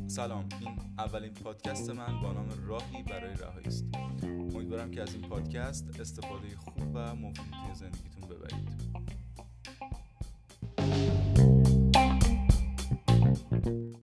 سلام، این اولین پادکست من با نام راهی برای رهایی است. امیدوارم که از این پادکست استفاده خوب و مفیدی توی زندگیتون ببرید.